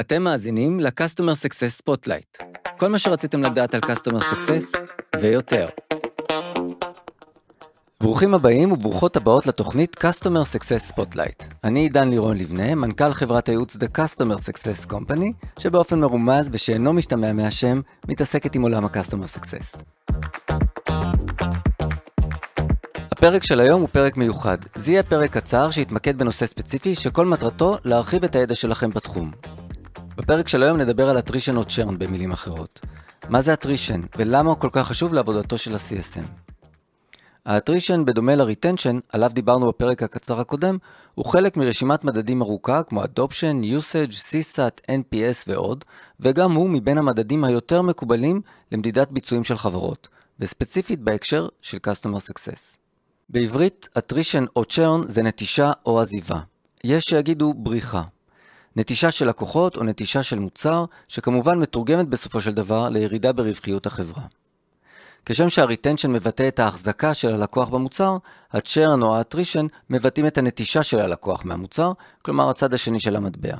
אתם מאזינים ל-Customer Success Spotlight. כל מה שרציתם לדעת על Customer Success ויותר. ברוכים הבאים וברוכות הבאות לתוכנית Customer Success Spotlight. אני דן לירון לבנה, מנכ"ל חברת הייעוץ The Customer Success Company, שבאופן מרומז ושאינו משתמע מהשם, מתעסקת עם עולם ה-Customer Success. הפרק של היום הוא פרק מיוחד. זה יהיה פרק קצר שהתמקד בנושא ספציפי שכל מטרתו להרחיב את הידע שלכם בתחום. בפרק של היום נדבר על attrition או churn במילים אחרות. מה זה attrition ולמה הוא כל כך חשוב לעבודתו של ה-CSM? ה-attrition בדומה ל-retention, עליו דיברנו בפרק הקצר הקודם, הוא חלק מרשימת מדדים ארוכה כמו adoption, usage, CSAT, NPS ועוד, וגם הוא מבין המדדים היותר מקובלים למדידת ביצועים של חברות, וספציפית בהקשר של Customer Success. בעברית, attrition או churn זה נטישה או עזיבה. יש שיגידו בריחה. נטישה של לקוחות או נטישה של מוצר, שכמובן מתורגמת בסופו של דבר לירידה ברווחיות החברה. כשם שה-retention מבטא את ההחזקה של הלקוח במוצר, ה-churn או ה-attrition מבטאים את הנטישה של הלקוח מהמוצר, כלומר הצד השני של המטבע.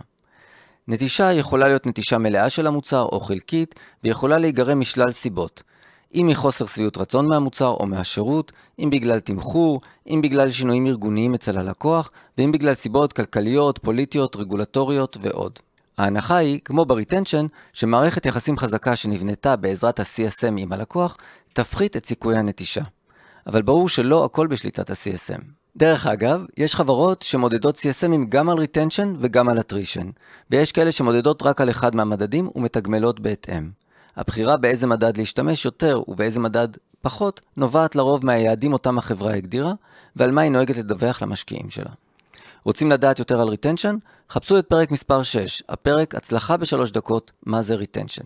נטישה יכולה להיות נטישה מלאה של המוצר או חלקית, ויכולה להיגרם משלל סיבות. אם מחוסר שביעות רצון מהמוצר או מהשירות, אם בגלל תמחור, אם בגלל שינויים ארגוניים אצל הלקוח, ואם בגלל סיבות כלכליות, פוליטיות, רגולטוריות ועוד. ההנחה היא, כמו ב-retention, שמערכת יחסים חזקה שנבנתה בעזרת ה-CSM עם הלקוח, תפחית את סיכויי הנטישה. אבל ברור שלא הכל בשליטת ה-CSM. דרך אגב, יש חברות שמודדות CSMים גם על retention וגם על attrition, ויש כאלה שמודדות רק על אחד מהמדדים ומתגמלות בהתאם. הבחירה באיזה מדד להשתמש יותר ובאיזה מדד פחות נובעת לרוב מהיעדים אותם החברה הגדירה ועל מה היא נוהגת לדווח למשקיעים שלה. רוצים לדעת יותר על retention? חפשו את פרק מספר 6, הפרק הצלחה ב3 דקות, מה זה retention.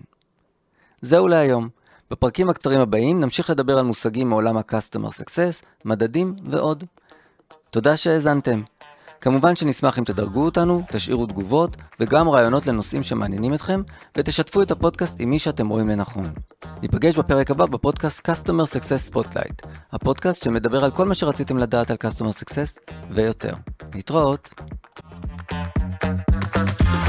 זהו להיום. בפרקים הקצרים הבאים נמשיך לדבר על מושגים מעולם ה-Customer Success, מדדים ועוד. תודה שהאזנתם. כמובן שנשמח אם תדרגו אותנו, תשאירו תגובות וגם רעיונות לנושאים שמעניינים אתכם, ותשתפו את הפודקאסט עם מי שאתם רואים לנכון. ניפגש בפרק הבא בפודקאסט Customer Success Spotlight, הפודקאסט שמדבר על כל מה שרציתם לדעת על Customer Success ויותר. להתראות!